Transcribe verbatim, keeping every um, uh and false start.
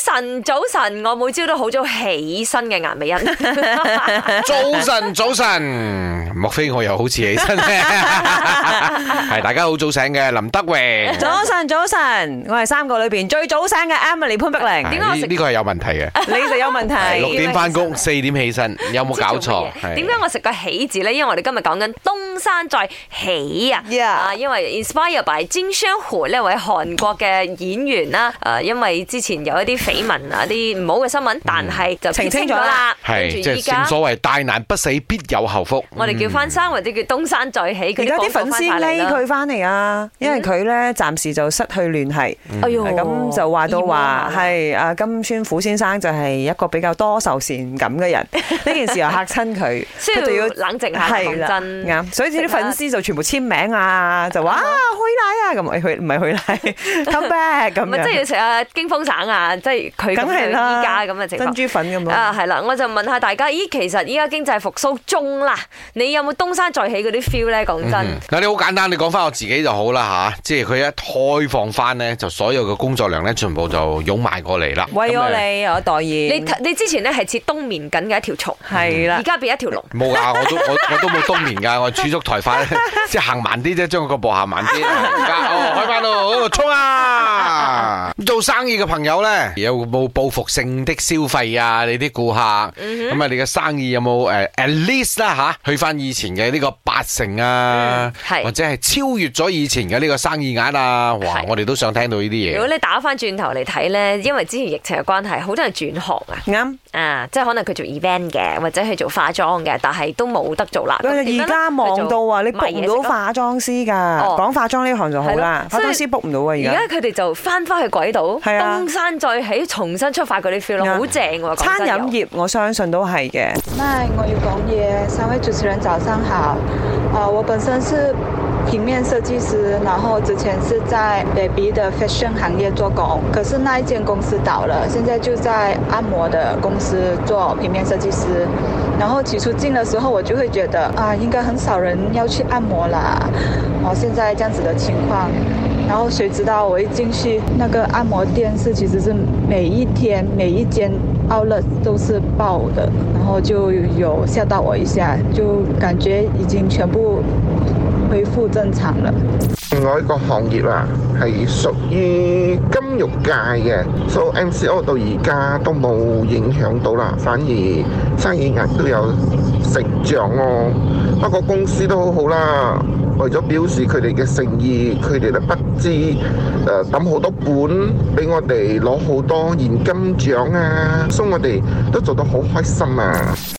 晨，早晨，我每朝都好早起身嘅顏美欣。 早晨，早晨，莫非我又好似起身咧？係大家好早醒嘅林德榮。 早晨，早晨，我係三個裏邊最早醒嘅 Emily 潘碧玲。 點解我食呢個係有問題嘅？ 你就有問題。 六點翻工，四點起身，有冇搞錯？ 點解我食個喜字咧？因為我哋今日講緊東山再起啊！ Yeah. 啊，因為 inspire by 金宣虎呢位韓國嘅演員啦。誒，因為之前有一啲緋聞啊，啲唔好嘅新聞，但係就澄清咗啦。 係即係正所謂大難不死，必有後福。 我哋叫翻生或者叫東山再起。 而家啲粉絲匿佢翻嚟啊，因為佢咧暫時就失去聯繫。 哎呦， 咁就話到話係阿金宣虎先生就係一個比較多愁善感嘅人。呢件事又嚇親佢， 需要冷靜下。係啦， 啱。所以啲粉絲就全部簽名啊，就話啊去奶啊咁，去唔係去奶 come back 咁樣。 咪即係要食啊驚風橙啊，即係佢咁樣依家咁嘅情況。 珍珠粉咁咯。 啊係啦，我就問下大家，咦其實依家經濟復甦中啦，你有冇東山再起嗰啲 feel 咧？講真， 嗱你好簡單，你講翻我自己就好啦嚇，即係佢一開放翻咧，就所有嘅工作量咧，全部就湧埋過嚟啦。 為咗你有代言， 你你之前咧係切冬眠緊嘅一條蟲， 係啦， 而家變一條龍。 冇啊，我都我我都冇冬眠㗎，我儲足台快，即係行慢啲啫，將個步行慢啲。而家哦開翻咯，衝啊！做生意嘅朋友咧，有冇報復性的消費啊？你啲顧客咁啊，你嘅生意有冇誒 at least 啦嚇，去翻以前嘅呢個八成啊，或者係超越咗以前嘅呢個生意額啊？哇！我哋都想聽到呢啲嘢。 如果你打翻轉頭嚟睇咧，因為之前疫情嘅關係，好多人轉行啊。 啱啊，即係可能佢做 event 嘅，或者係做化妝嘅，但係都冇得做啦。 而家忙到啊，你 book 唔到化妝師㗎。講化妝呢行就好啦，化妝師 book 唔到啊。而家而家佢哋就翻返去軌道，東山再起，重新出發嗰啲 feel 咯，好正喎！ 餐飲業我相信都係嘅。 那我要講嘢，三位主持人早上好。啊，我本身是平面設計師，然後之前是在 baby 的 fashion 行業做工，可是那一間公司倒了，現在就在按摩的公司做平面設計師。然後起初進的時候，我就會覺得啊，應該很少人要去按摩啦。哦，現在這樣子的情況，然後誰知道我一進去，那個按摩店是其實是每一天每一間 outlet 都是爆的，然後就有嚇到我一下，就感覺已經全部恢復正常了。 另外一個行業啊，係屬於金融界嘅，所以 M C O 到而家都冇影響到啦，反而生意額都有成長咯。不過公司都好好啦，為咗表示佢哋嘅誠意，佢哋都不知誒抌好多本俾我哋攞好多現金獎啊，所以我哋都做得好開心啊！